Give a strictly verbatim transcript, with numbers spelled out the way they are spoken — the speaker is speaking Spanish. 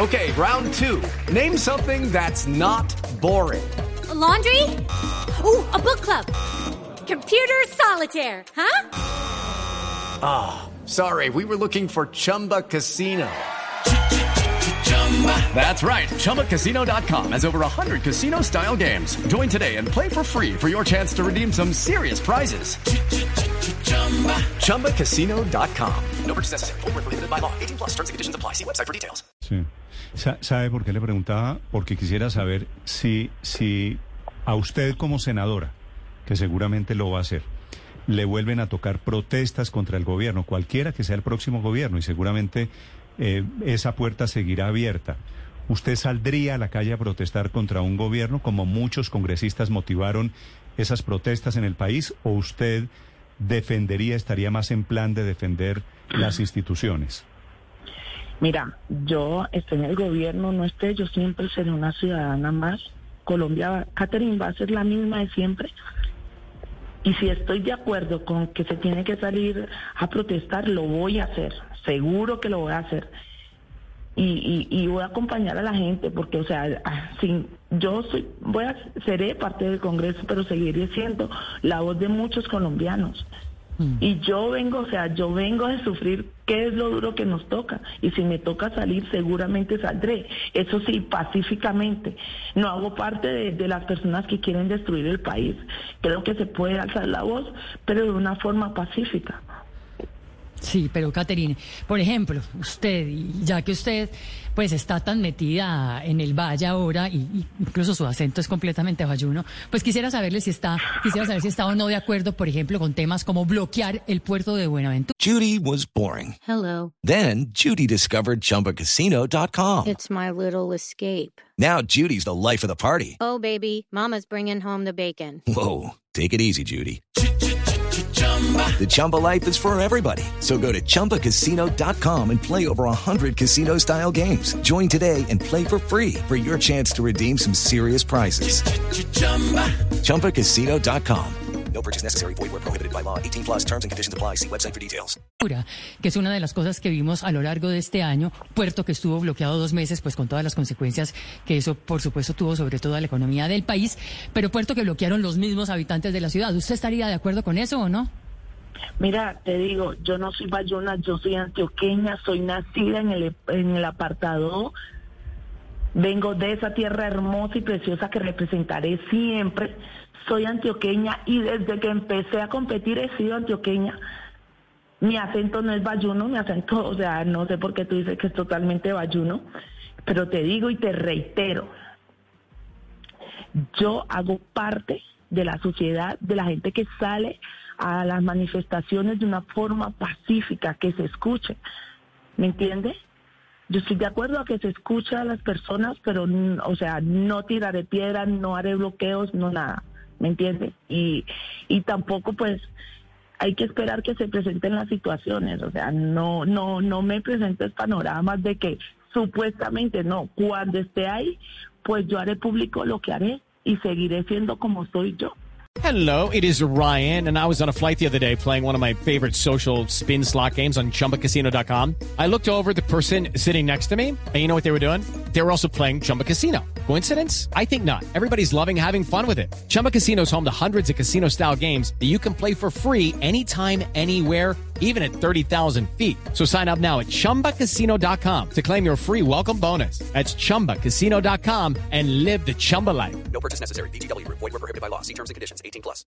Okay, round two. Name something that's not boring. A laundry? Ooh, a book club. Computer solitaire, huh? Ah, oh, sorry, we were looking for Chumba Casino. That's right, Chumba Casino dot com has over one hundred casino-style games. Join today and play for free for your chance to redeem some serious prizes. Chumba Casino dot com. No purchase necessary. Void where prohibited by law. eighteen plus terms and conditions apply. See website for details. Sí. ¿Sabe por qué le preguntaba? Porque quisiera saber si, si a usted como senadora, que seguramente lo va a hacer, le vuelven a tocar protestas contra el gobierno, cualquiera que sea el próximo gobierno, y seguramente eh, esa puerta seguirá abierta. ¿Usted saldría a la calle a protestar contra un gobierno como muchos congresistas motivaron esas protestas en el país, o usted defendería, estaría más en plan de defender las instituciones? Mira, yo estoy en el gobierno, no esté, yo siempre seré una ciudadana más. Colombia, Catherine, va a ser la misma de siempre. Y si estoy de acuerdo con que se tiene que salir a protestar, lo voy a hacer. Seguro que lo voy a hacer. Y, y, y voy a acompañar a la gente, porque, o sea, sin, yo soy, voy a, seré parte del Congreso, pero seguiré siendo la voz de muchos colombianos. Mm. Y yo vengo, o sea, yo vengo de sufrir qué es lo duro que nos toca. Y si me toca salir, seguramente saldré. Eso sí, pacíficamente. No hago parte de, de las personas que quieren destruir el país. Creo que se puede alzar la voz, pero de una forma pacífica. Sí, pero Catherine, por ejemplo, usted, ya que usted pues está tan metida en el valle ahora, y, y incluso su acento es completamente bayuno, pues quisiera saberle si está, quisiera saber si está o no de acuerdo, por ejemplo, con temas como bloquear el puerto de Buenaventura. Judy was boring. Hello. Then Judy discovered Chumba Casino dot com. It's my little escape. Now Judy's the life of the party. Oh, baby, mama's bringing home the bacon. Whoa, take it easy, Judy. The Chumba life is for everybody. So go to Chumba Casino dot com and play over one hundred casino-style games. Join today and play for free for your chance to redeem some serious prizes. Chumba Casino dot com. No purchase necessary. Void where prohibited by law. eighteen plus terms and conditions apply. See website for details. Que es una de las cosas que vimos a lo largo de este año. Puerto que estuvo bloqueado dos meses, pues con todas las consecuencias que eso, por supuesto, tuvo sobre toda la economía del país. Pero puerto que bloquearon los mismos habitantes de la ciudad. ¿Usted estaría de acuerdo con eso o no? Mira, te digo, yo no soy bayuna, yo soy antioqueña, soy nacida en el, en el apartado. Vengo de esa tierra hermosa y preciosa que representaré siempre. Soy antioqueña y desde que empecé a competir he sido antioqueña. Mi acento no es bayuno, mi acento, o sea, no sé por qué tú dices que es totalmente bayuno, pero te digo y te reitero, yo hago parte de la sociedad, de la gente que sale a las manifestaciones de una forma pacífica, que se escuche, ¿me entiendes? Yo estoy de acuerdo a que se escuche a las personas, pero, o sea, no tiraré piedras, no haré bloqueos, no nada, ¿me entiendes? Y, y tampoco, pues, hay que esperar que se presenten las situaciones, o sea, no, no, no me presentes panoramas de que supuestamente no, cuando esté ahí, pues yo haré público lo que haré y seguiré siendo como soy yo. Hello, it is Ryan, and I was on a flight the other day playing one of my favorite social spin slot games on Chumba Casino dot com. I looked over at the person sitting next to me, and you know what they were doing? They were also playing Chumba Casino. Coincidence? I think not. Everybody's loving having fun with it. Chumba Casino is home to hundreds of casino-style games that you can play for free anytime, anywhere, even at thirty thousand feet. So sign up now at Chumba Casino dot com to claim your free welcome bonus. That's Chumba Casino dot com and live the Chumba life. No purchase necessary. V G W. Void where prohibited by law. See terms and conditions. eighteen plus.